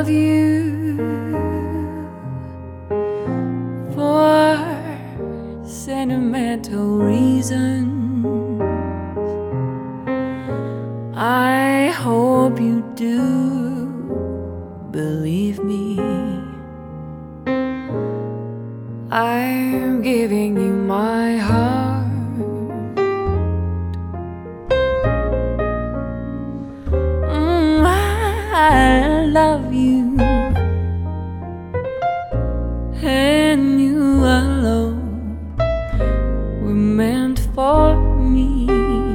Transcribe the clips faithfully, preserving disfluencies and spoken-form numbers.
love you for sentimental reasons. I hope you do believe me. I'm giving you my heart. Mm, I love you, and you alone were meant for me.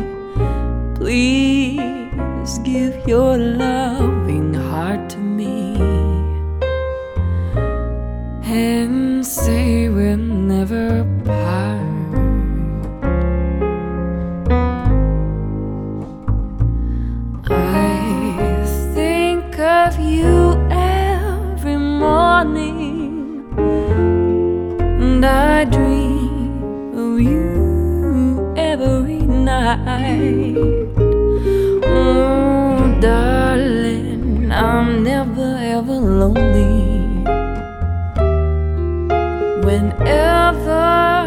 Please give your loving heart to me and say we'll never part. I think of you every morning, and I dream of you every night. Oh, darling, I'm never ever lonely. Whenever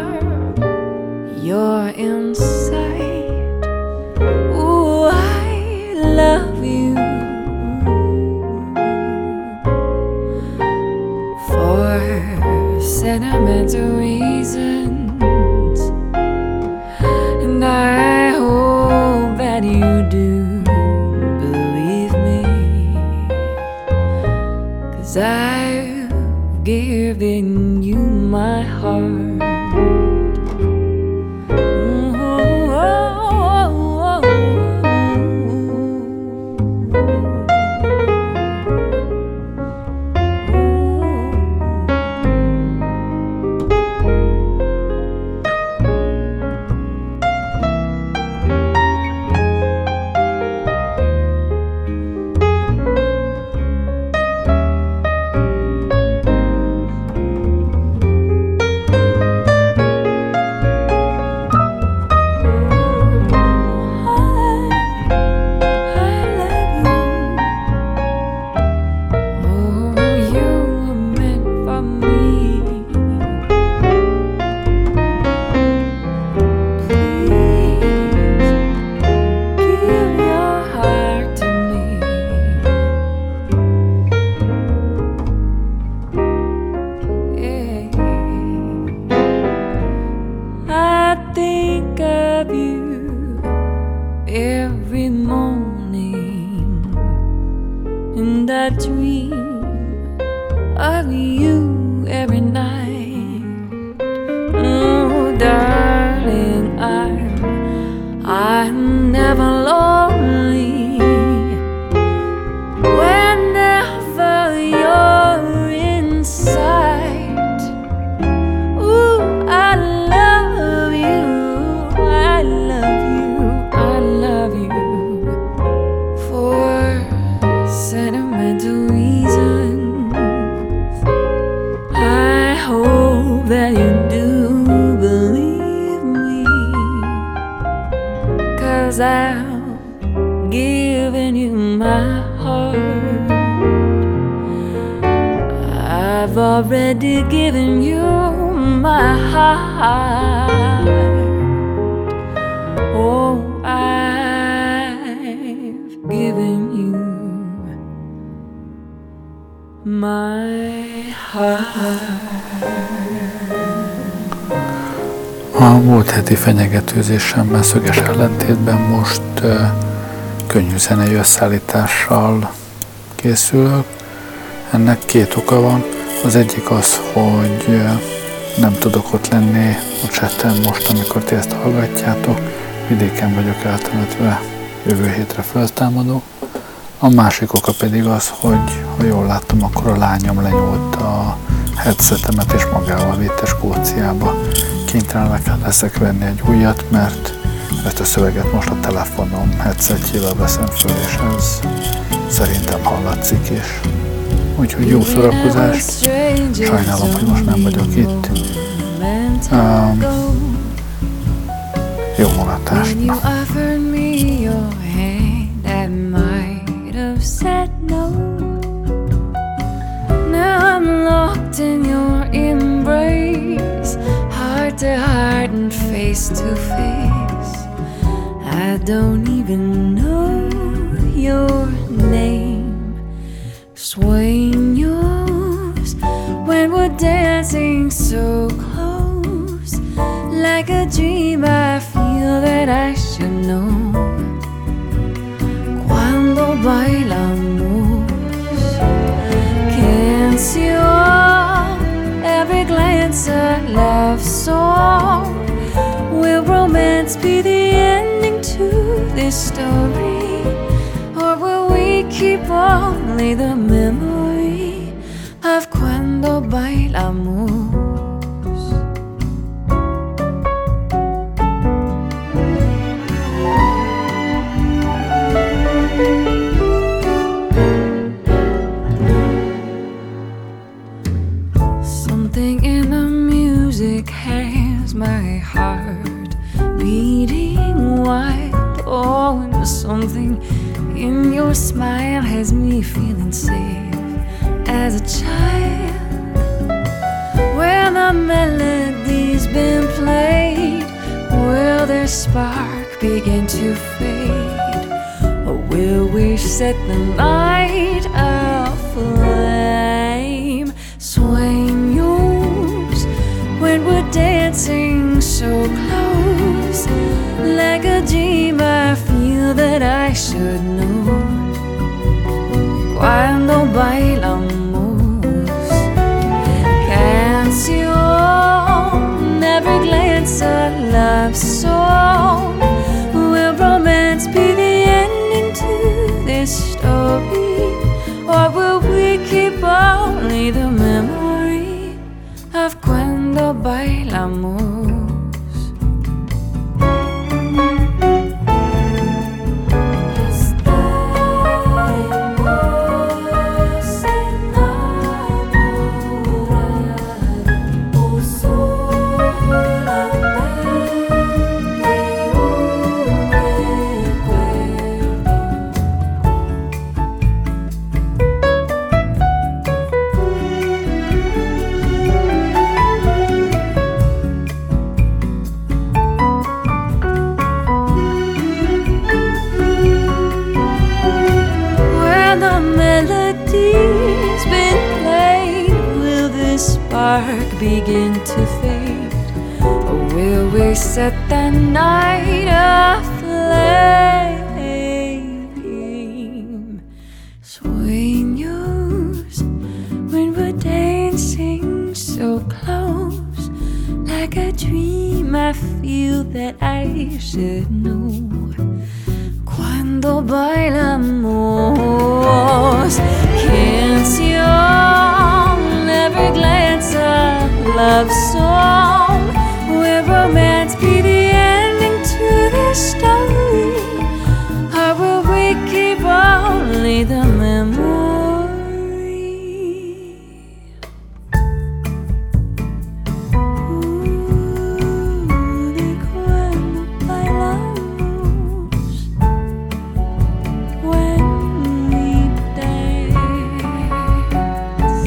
you're in sight, ooh, I love you for sentimental reasons, and I hope that you do believe me, 'cause I've given you my heart. Every morning, and I dream of you every night. Oh, darling, I'm I'm never lonely. Whenever you're in sight, ooh, I love you, I love you, I love you for sentimental reasons. I hope that you do believe me, 'cause I've given you my heart. I've already given you my heart. Oh, I've given you my heart. A múlt heti fenyegetőzésemmel szöges ellentétben most uh, könnyű zenei összeállítással készülök. Ennek két oka van. Az egyik az, hogy uh, nem tudok ott lenni a chatten most, amikor ti ezt hallgatjátok. Vidéken vagyok eltemetve, jövő hétre feltámadó. A másik oka pedig az, hogy ha jól láttam, akkor a lányom lenyúlt a headsetemet és magával vitte Skóciába. Kénytelen leszek venni egy újat, mert ezt a szöveget most a telefonom headsetjével veszem föl, és ez szerintem hallatszik is. Úgyhogy jó szórakozást. Sajnálom, hogy most nem vagyok itt. Um, jó mulatást. face to face. I don't even know your name. Swaying yours when we're dancing so close, like a dream I feel that I should know. Cuando bailamos, can't see all, every glance a love song. Will romance be the ending to this story, or will we keep only the memory of cuando bailamos? Something in the music has my heart beating wild. Oh, and something in your smile has me feeling safe as a child. When the melody's been played, will their spark begin to fade, or will we set the night aflame? Swaying yours when we're dancing so close, like a dream I feel that I should know. Cuando bailamos, can't you own every glance a love song? Will romance be the ending to this story, or will we keep only the memory of cuando bailamos? Begin to fade, or will we set the night aflame? Swaying yours when we're dancing so close, like a dream I feel that I should know. Cuando bailamos, can't see all, every glance a love song. Will romance be the ending to this story, or will we keep only the memory? Ooh, de cuando bailamos, when we dance.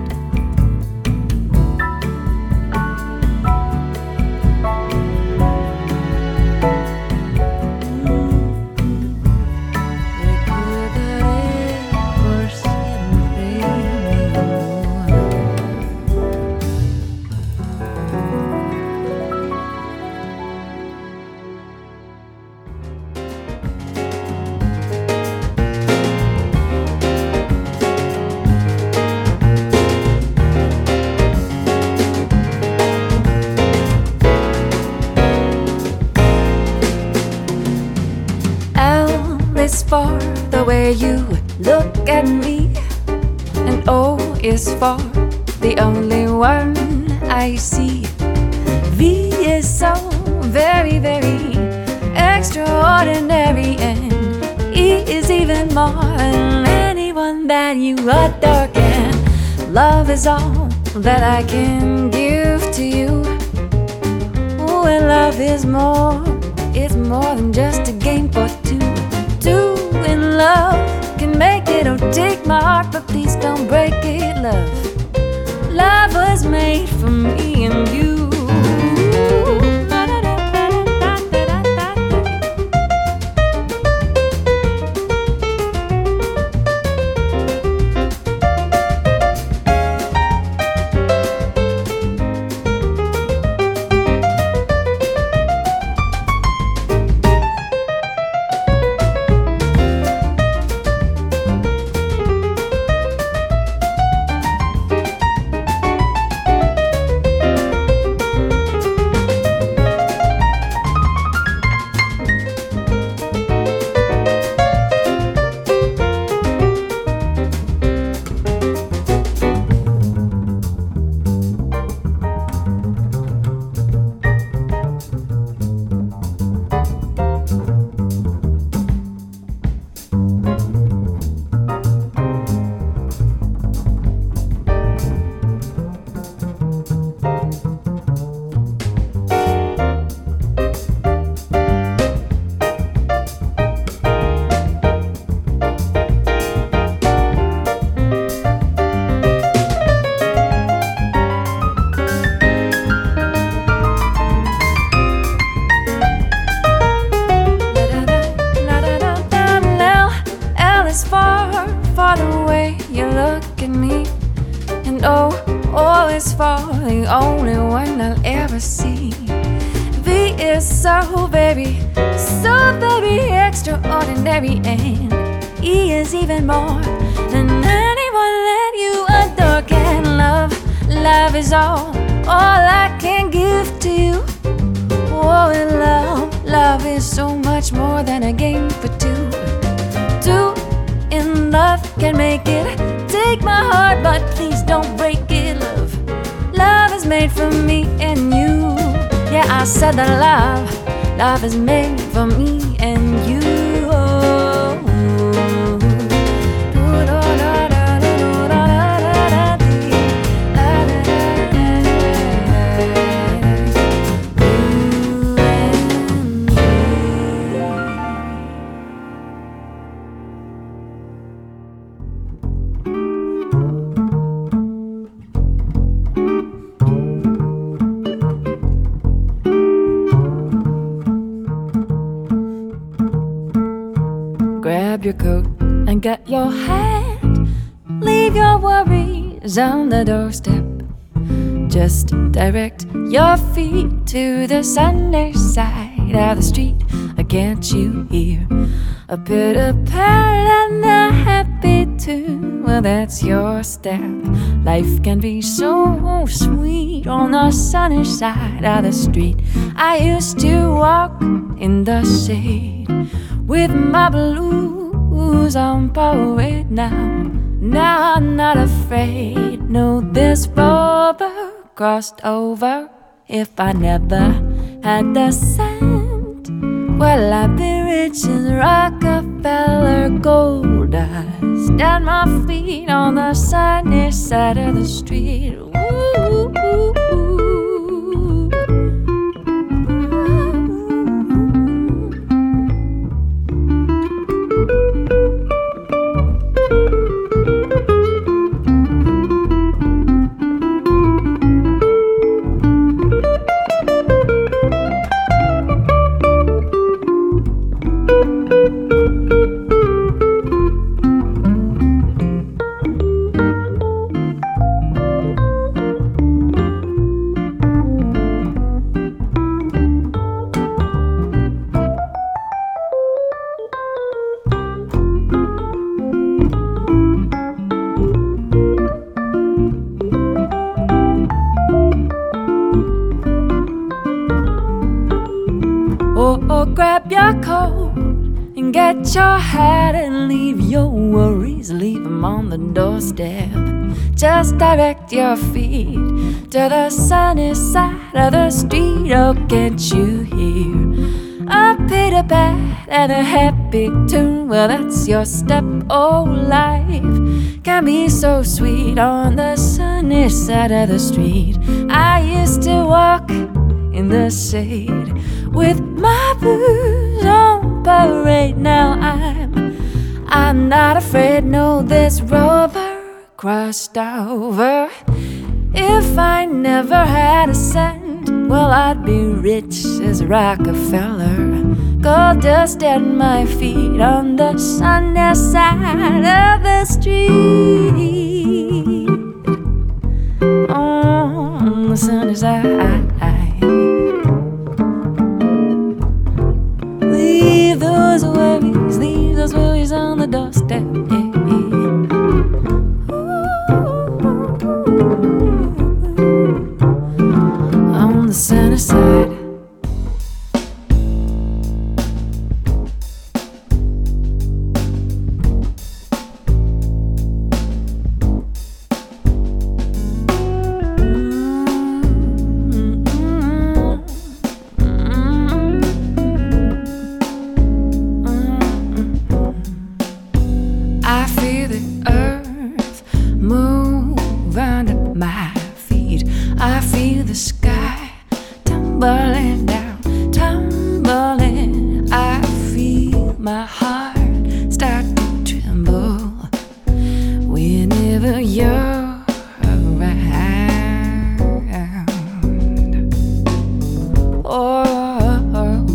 Is for the way you look at me, and O is for the only one I see. V is so very, very extraordinary, and E is even more than anyone that you adore can. Love is all that I can give to you. Oh, and love is more, it's more than just a game for two. Two in love can make it or take my heart, but please don't break it, love. Love was made for me and you. at me. And oh, oh, it's for the only one I'll ever see. V is so very, so very extraordinary, and E is even more than anyone that you adore can love. Love is all, all I can give to you. Oh, and love, love is so much more than a game for two. Two in love can make it. Take my heart, but please don't break it, love. Love is made for me and you. Yeah, I said that love, love is made for me and you. Grab your coat and get your hat. Leave your worries on the doorstep. Just direct your feet to the sunny side of the street. Can't you hear a pitter-patter and a happy tune? Well, that's your step. Life can be so sweet on the sunny side of the street. I used to walk in the shade with my blues on parade now. Now I'm not afraid. No, this rover crossed over. If I never had the scent, well, I'd be rich as Rockefeller, gold dust at my feet on the sunny side of the street. Ooh, ooh, ooh. Grab your coat and get your hat and leave your worries, leave them on the doorstep. Just direct your feet to the sunny side of the street. Oh, can't you hear a pitter-pat and a happy tune? Well, that's your step. Oh, life can be so sweet on the sunny side of the street. I used to walk in the shade with my blues on parade. Now I'm, I'm not afraid. No, this rover crossed over. If I never had a cent, well, I'd be rich as Rockefeller. Gold dust at my feet on the sunny side of the street. On the sunny side. Leave those worries, leave those worries on the doorstep. Yeah, yeah. On the sunny side. Tumbling down, tumbling, I feel my heart start to tremble whenever you're around. Oh, oh,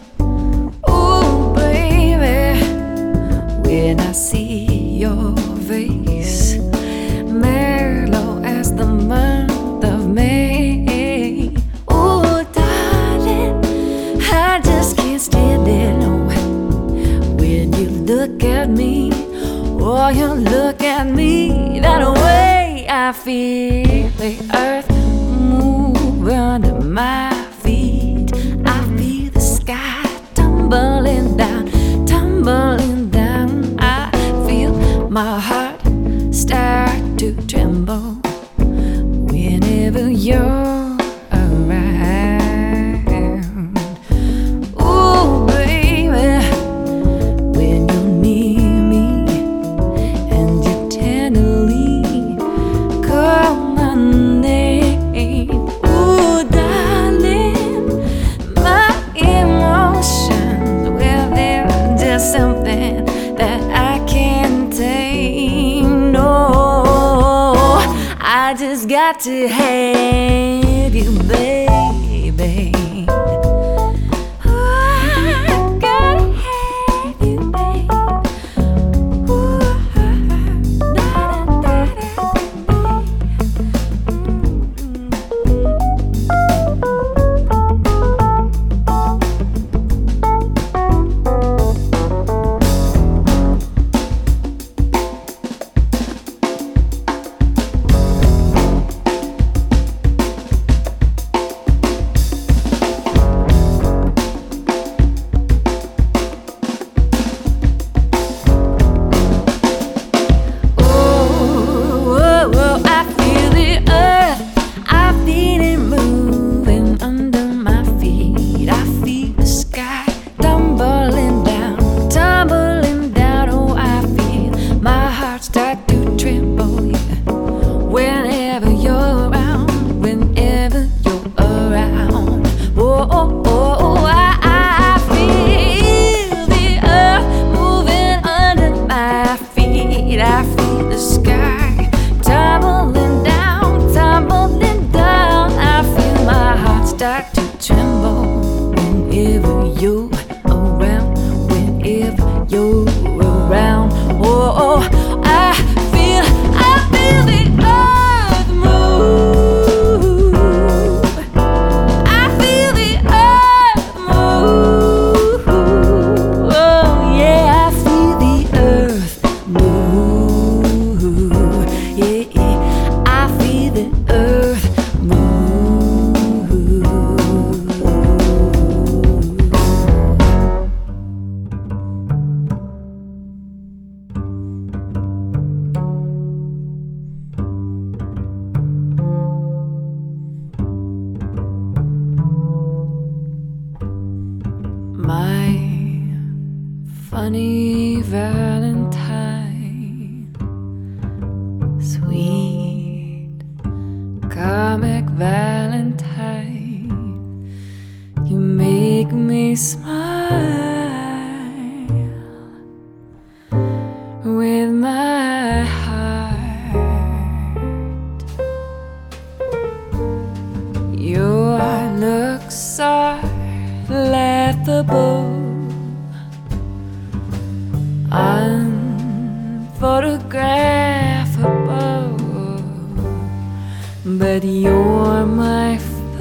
oh, oh, baby, when I see your face face, mellow as the month of May. Oh, darling, I just can't stand it. No. When you look at me, or you look at me, that way I feel the earth move under my feet. I feel the sky tumbling down, tumbling down. I feel my heart start to tremble whenever you're around. Ooh, baby, when you're near me and you tenderly call my name. Ooh, darling, my emotions, well, they're just something that I can't tame. No, I just got to have you, baby. Ooh, I gotta have you, baby. Ooh, da, da, da, da, funny Valentine, sweet comic Valentine, you make me smile with my heart. Your looks are laughable, unphotographable, but you're my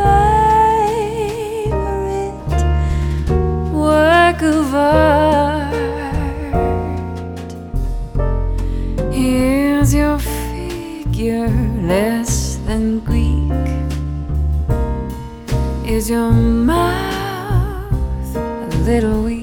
favorite work of art. Here's your figure, less than Greek. Is your mouth a little weak?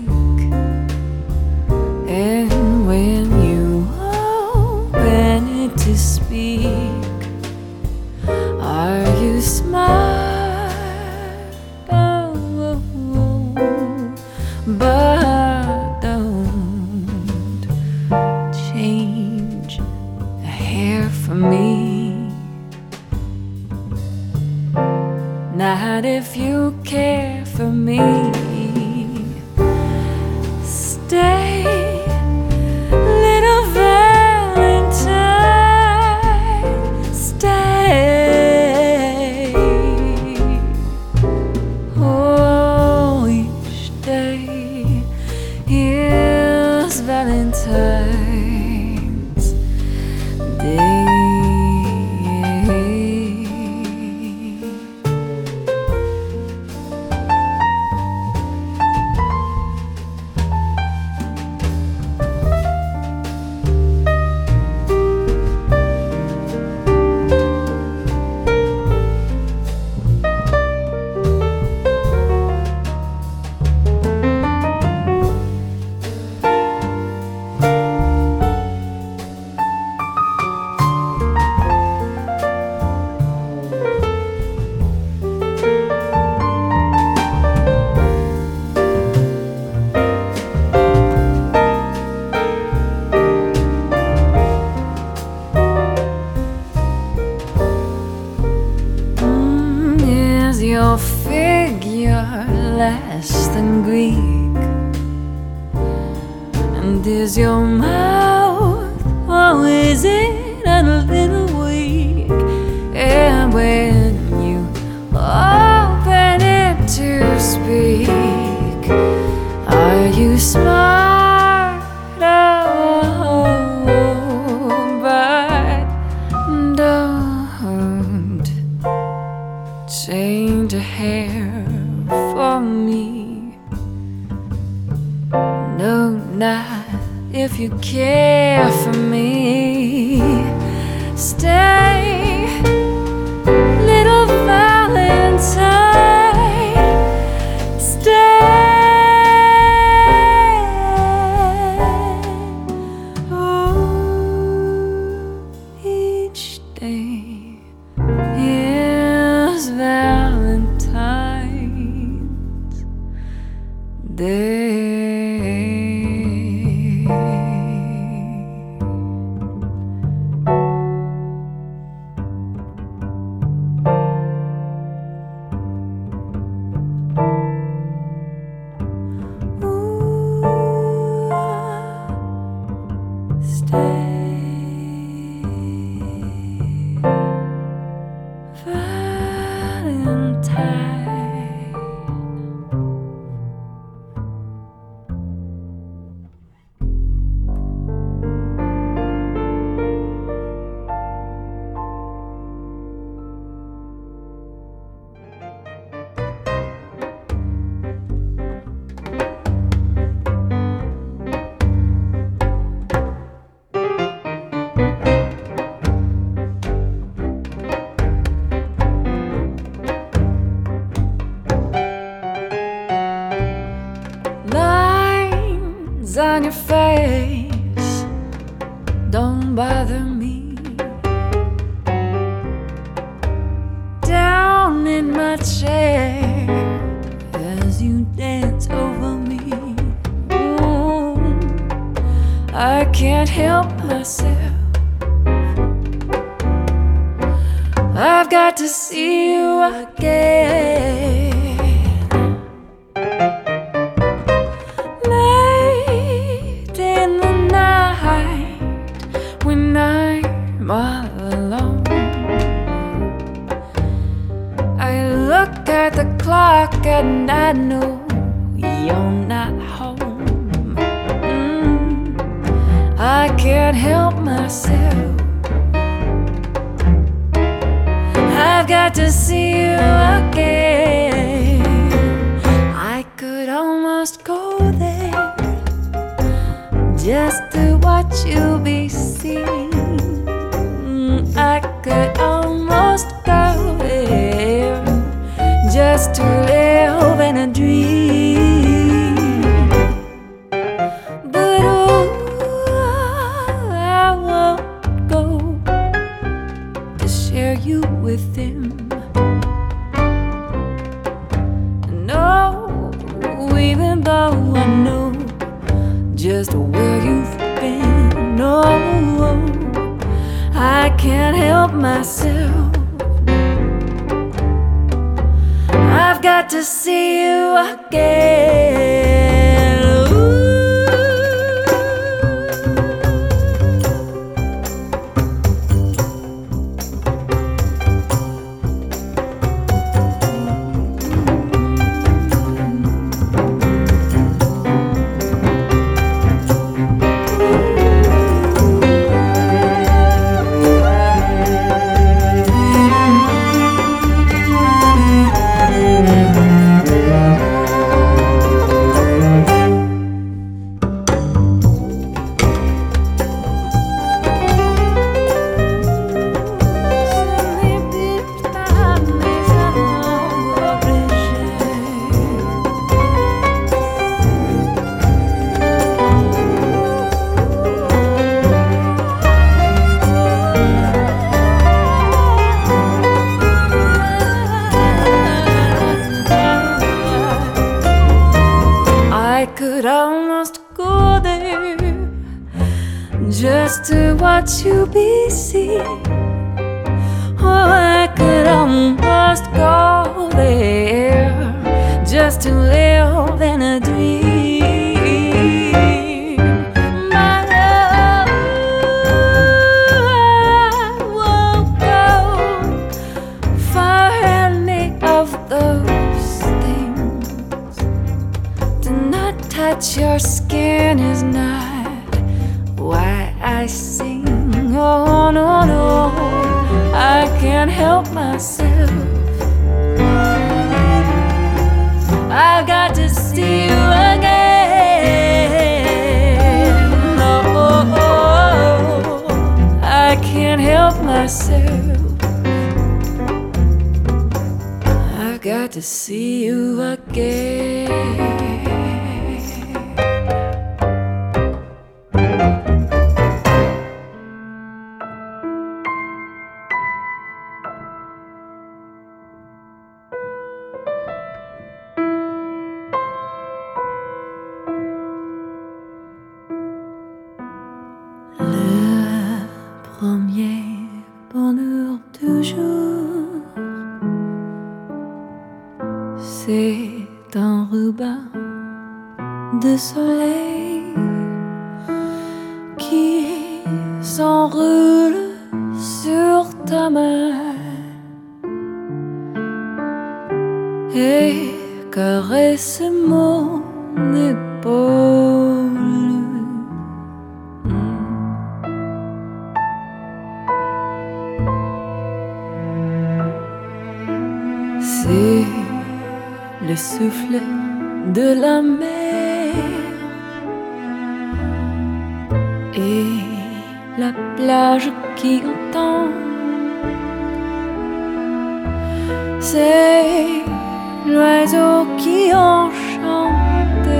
And when you open it to speak, are you smart? Oh, oh, oh. But don't change the hair for me, not if you care for me. Stay, little Valentine, stay. Oh, each day is Valentine's. less than Greek? And is your mouth, or is it a little weak? And when you open it to speak, are you smart? Oh, but don't change a hair for me. No, not if you care for me. Stay, little Valentine. Stay. Oh, each day is Valentine's Day. On your face don't bother me. Down in my chair as you dance over me. Ooh, I can't help myself. I've got to see you again. I'm all alone. I look at the clock and I know you're not home. mm, I can't help myself. I've got to see you again. I could almost go there just to watch you be seen. I could almost go there just to live in a dream. But oh, I won't go to share you with him. No, even though I know just where you've been. No, I can't help myself. I've got to see you again. Ooh. could almost go there just to watch you be seen. Oh, I could almost go there just just to live in a dream. My love, I won't go for any of those things. To not touch your skin is not why I sing. Oh no, no, I can't help myself. I've got to see you again. Oh, oh, oh, I can't help myself. I've got to see you again. C'est un ruban de soleil qui s'enroule sur ta main et caresse mon épaule. C'est le souffle de la mer et la plage qui entend. C'est l'oiseau qui enchante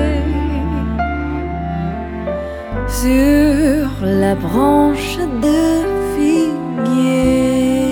sur la branche de figuier.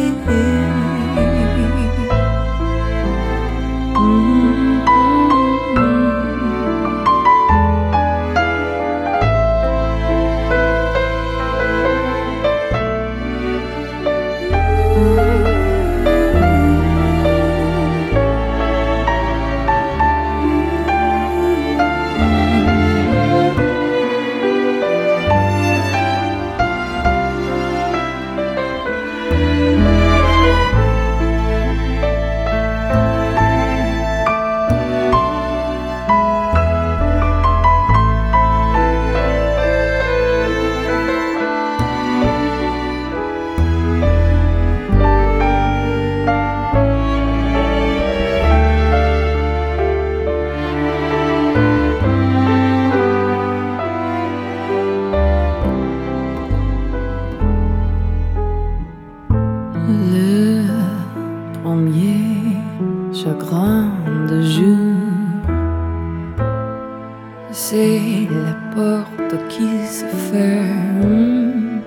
C'est la porte qui se ferme,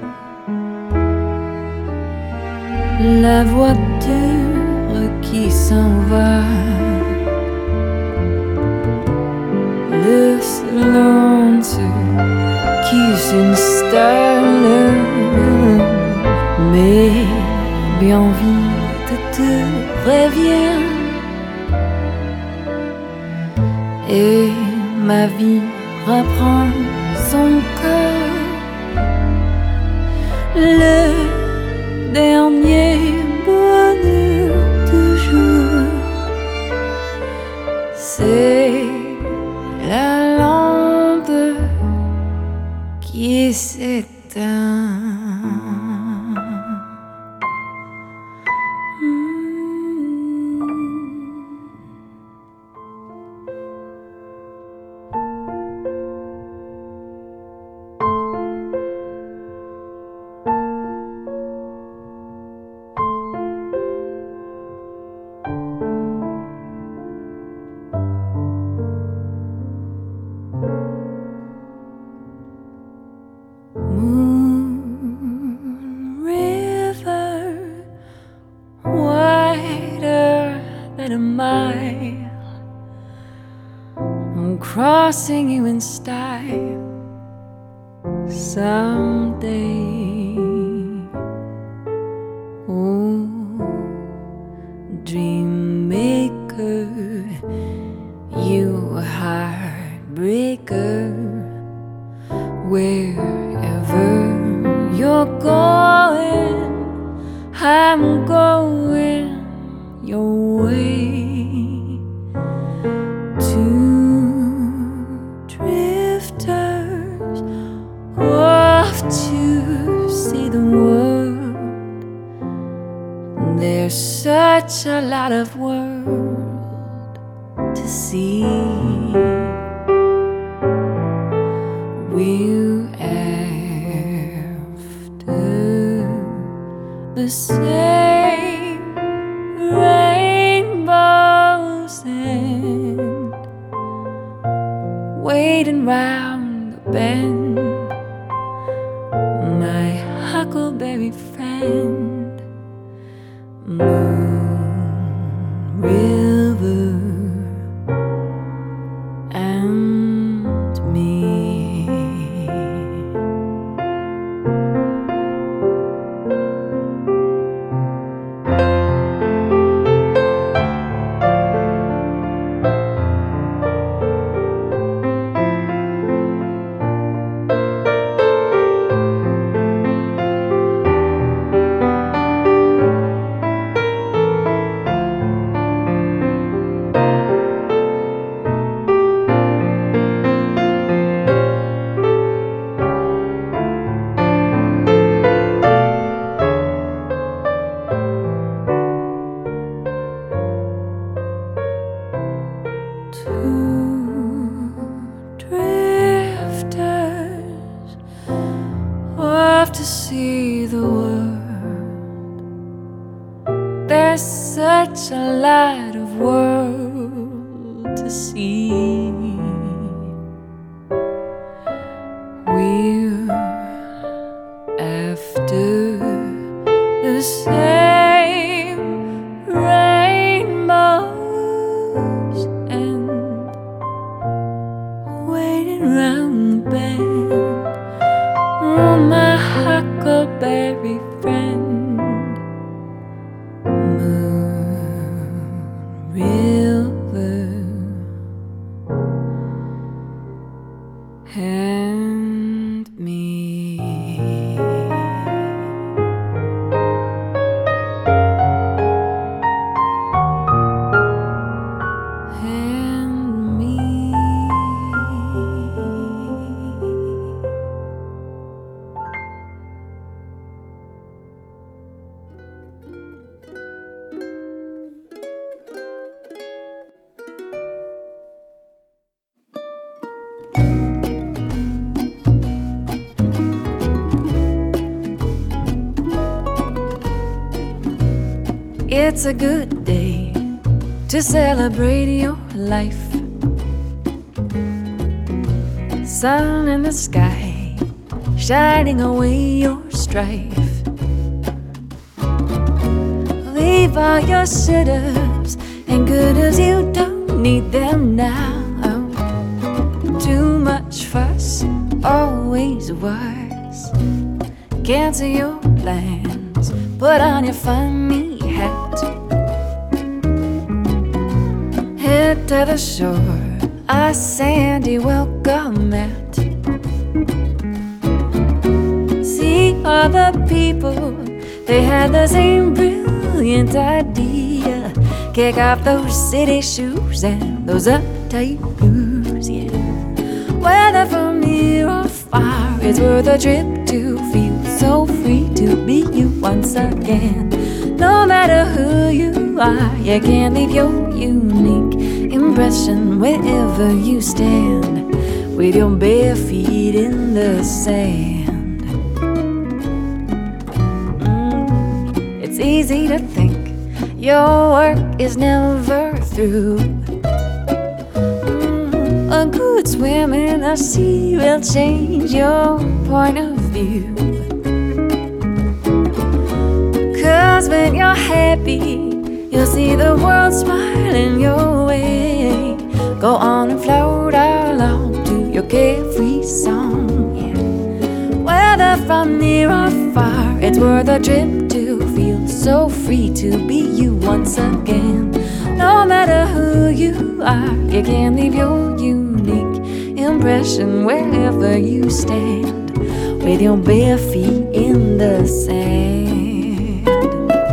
la voiture qui s'en va, le silence qui s'installe, mais bien vite te revient et ma vie reprend son cœur. Le dernier bonheur toujours, c'est la lampe qui s'éteint. Crossing you in style someday. Oh, dream maker, I'm going your way. Two drifters off to see the world. There's such a lot of world to see. We're after the same rainbows and waiting round the bend, my huckleberry friend, Moon River and me. To see the world, there's such a lot of world to see. We're after the same rainbows and waiting round the bend. Oh, my huckleberry friend, Moon River and me. And me. It's a good day to celebrate your life. Sun in the sky, shining away your strife. Leave all your shouldas and couldas, you don't need them now. Too much fuss, always worse. Cancel your plans, put on your funny hat. Head to the shore, a sandy welcome mat. See all the people, they had the same brilliant idea. Kick off those city shoes and those uptight blues, yeah. Whether from near or far, it's worth a trip to feel so free to be you once again. No matter who you are, you can't leave your unique impression wherever you stand, with your bare feet in the sand. Mm, it's easy to think your work is never through. Mm, a good swim in the sea will change your point of view. Cause when you're happy, you'll see the world smiling your way. Go on and float along to your carefree song, yeah. Whether from near or far, it's worth a trip to feel so free to be you once again. No matter who you are, you can leave your unique impression wherever you stand, with your bare feet in the sand.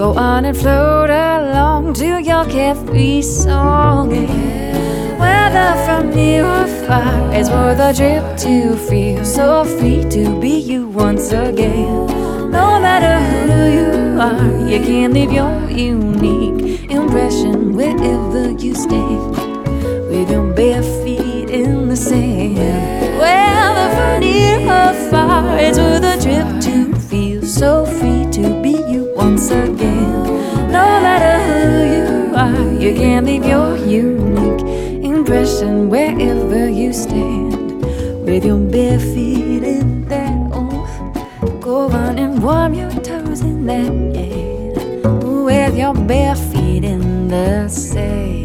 Go on and float along to your carefree song. Whether from near or far, it's worth a trip to feel so free to be you once again. No matter who you are, you can leave your unique impression wherever you stand, with your bare feet in the sand. Whether from near or far, it's worth a trip to feel so free to be you once again. No matter who you are, you can leave your unique impression wherever you stand, with your bare feet in that. Oh, go on and warm your toes in that air, with your bare feet in the sand.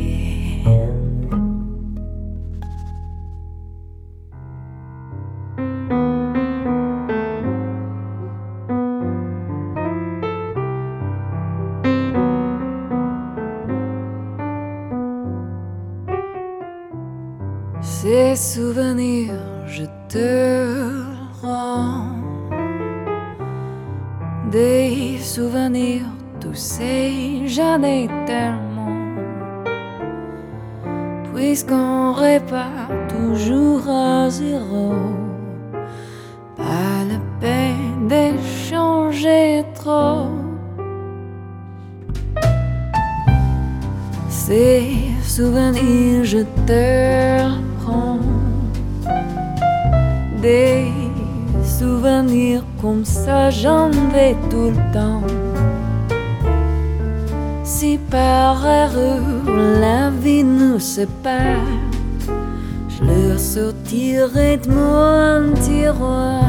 Ces souvenirs, je te rends des souvenirs, tous ces j'en ai tellement, puisqu'on répare toujours à zéro, pas la peine d'échanger trop. Ces souvenirs, je te rends des souvenirs comme ça, j'en vais tout le temps. Si par erreur la vie nous sépare, je leur sortirai de mon tiroir.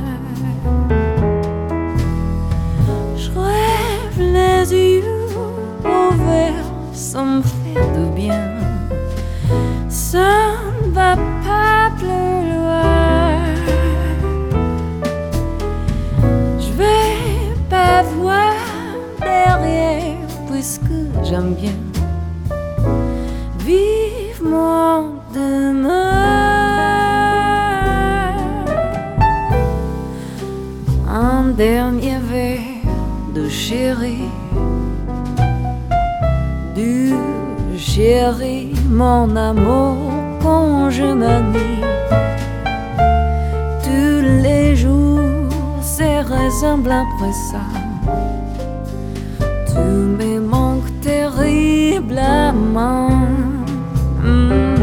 Je rêve les yeux ouverts sans me faire de bien, ça ne va pas plus loin. Je vais pas voir derrière, puisque j'aime bien vivement demain. Un dernier verre de chéri, du chéri, mon amour, quand je m'ennuie. Tous les jours, c'est ressemble après ça. Tu me manques terriblement. Mm.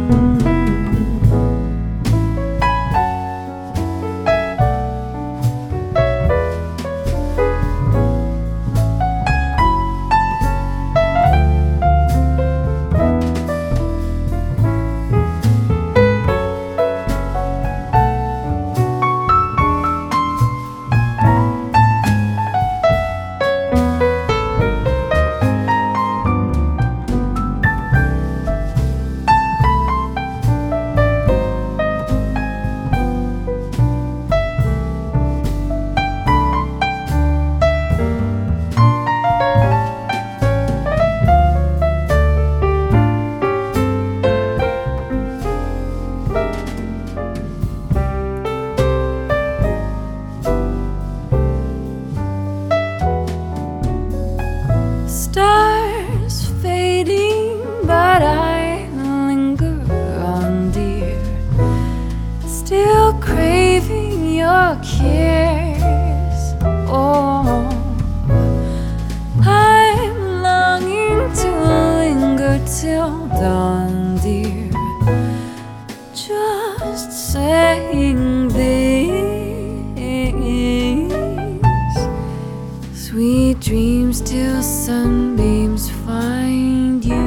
Stars fading, but I linger on, dear, still craving your kiss. Oh, I'm longing to linger till dawn, dear, just saying these sweet dreams till sunbeams find you,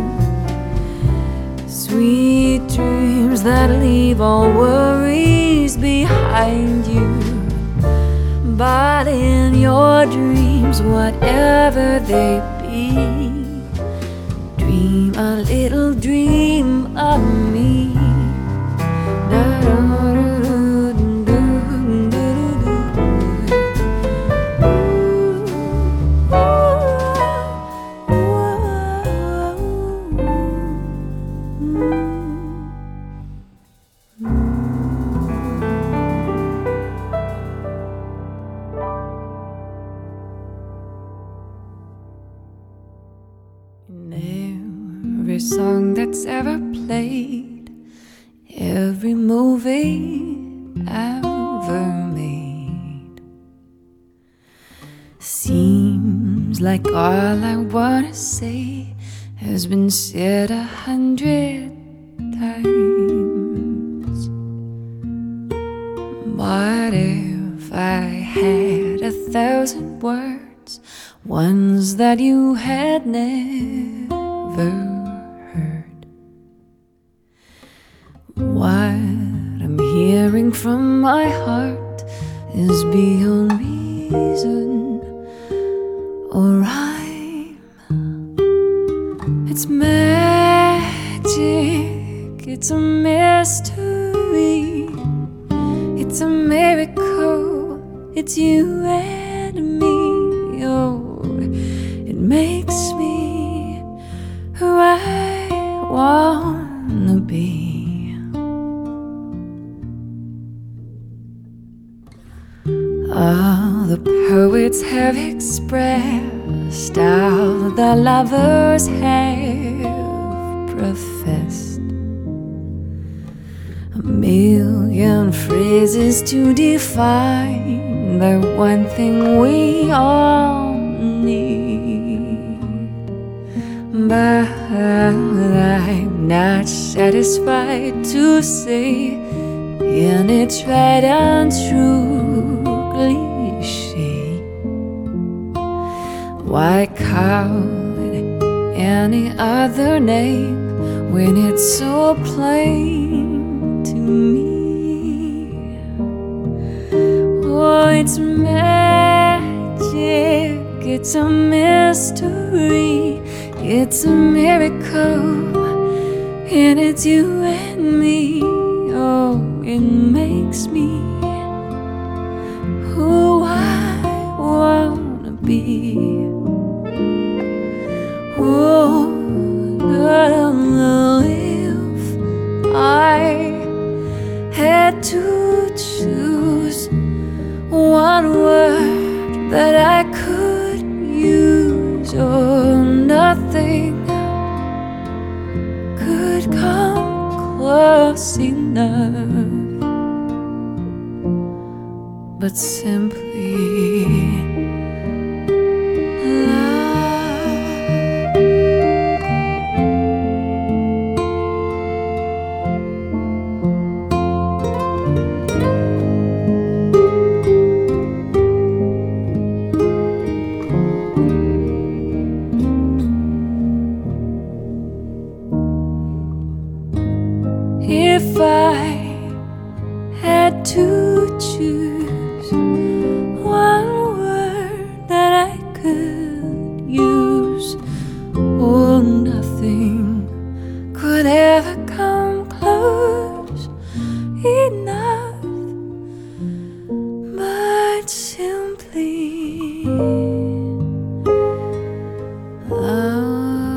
sweet dreams that leave all worries behind you. But in your dreams, whatever they be, dream a little dream of me. that's ever played, every movie ever made. Seems like all I wanna say has been said a hundred times. What if I had a thousand words, ones that you had never heard? What I'm hearing from my heart is beyond reason or rhyme. It's magic, it's a mystery, it's a miracle, it's you and me. Oh, it makes me who I wanna be. All the poets have expressed, all the lovers have professed, a million phrases to define the one thing we all need. But I'm not satisfied to say any tried and true cliché. Why call it any other name when it's so plain to me? Oh, it's magic, it's a mystery, it's a miracle, and it's you and me. Oh, it makes me who I wanna be. Oh, if I had to choose one word that I could use, or nothing could come close enough, but simply if I had to choose one word that I could use, oh, nothing could ever come close enough, but simply love.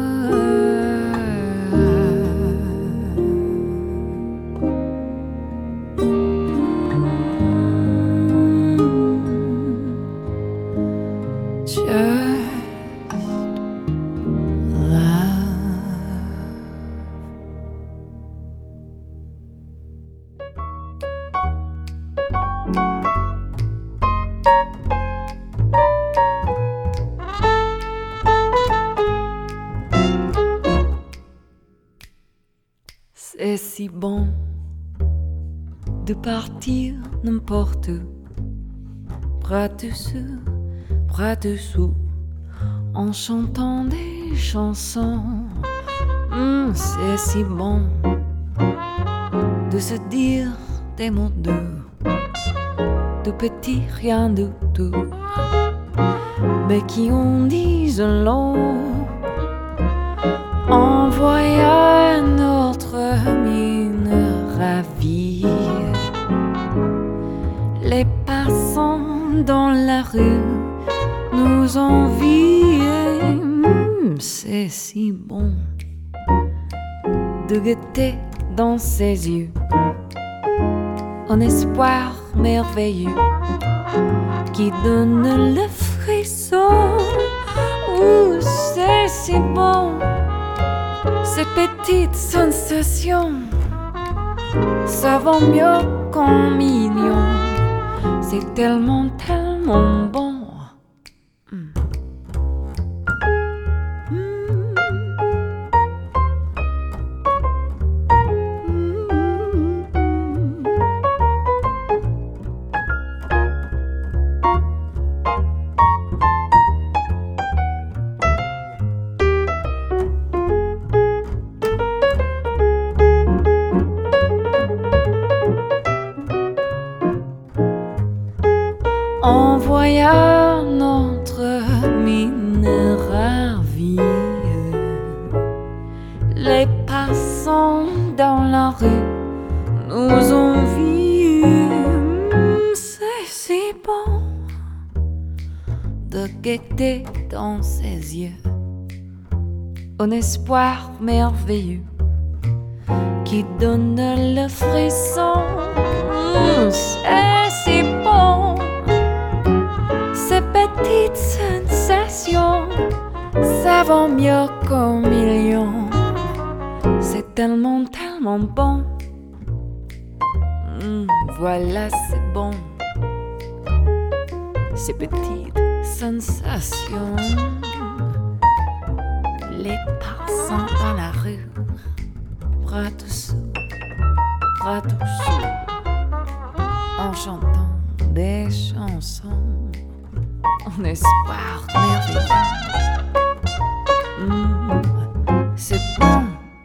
C'est si bon de partir n'importe où, bras dessus, bras dessous, en chantant des chansons. Mmh, c'est si bon de se dire des mots doux, de petits rien du tout, mais qui en disent long, en voyant notre mine ravie. Les passants dans la rue nous envient. Mmh, c'est si bon de guetter dans ses yeux un espoir merveilleux qui donne le frisson. Ouh, c'est si bon, c'est petit petites sensations, ça vaut mieux qu'un million. C'est tellement, tellement bon. Mm. On voyait notre mine ravie, les passants dans la rue nous ont vus. C'est si bon de guetter dans ses yeux un espoir merveilleux qui donne le frisson. C'est si bon, ces petites sensations, ça vaut mieux qu'un million. C'est tellement, tellement bon. Mmh, voilà, c'est bon. Ces petites sensations, les passants dans la rue, bras dessous, bras dessous, en chantant des chansons. Un espoir merveilleux. Mmh, c'est bon.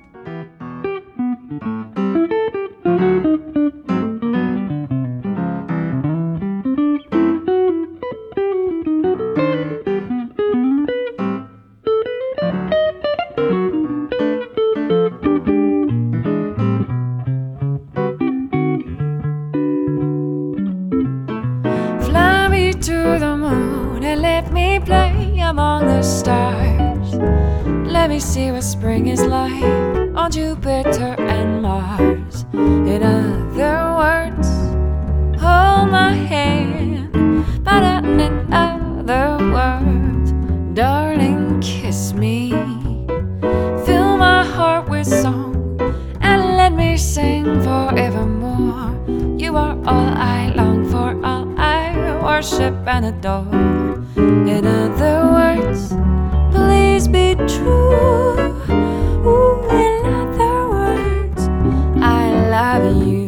Fly me to the moon and let me play among the stars. Let me see what spring is like on Jupiter and Mars. In other words, hold my hand. But in other words, darling, kiss me. Fill my heart with song and let me sing forevermore. You are all I long for, all I worship and adore. In other words, please be true. Ooh, in other words, I love you.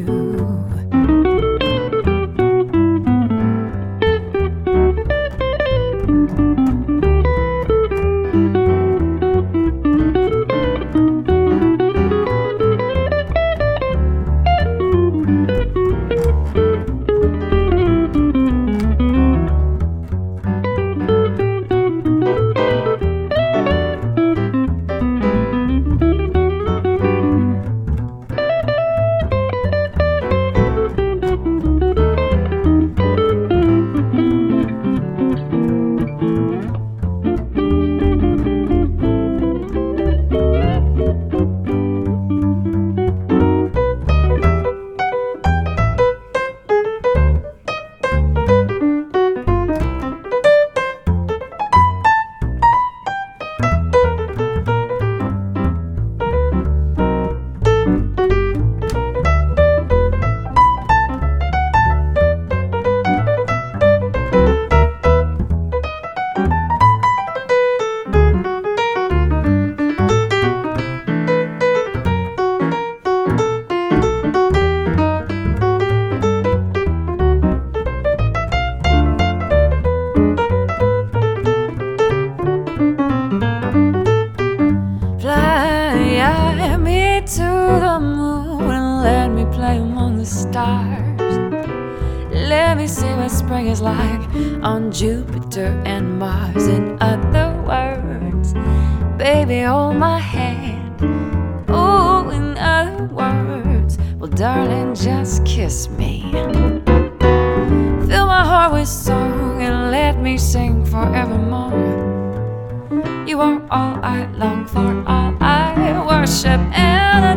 To the moon and let me play among the stars. Let me see what spring is like on Jupiter and Mars. In other words, baby, hold my hand. Oh, in other words, well, darling, just kiss me. Fill my heart with song and let me sing forevermore. You are all I long for, all I worship and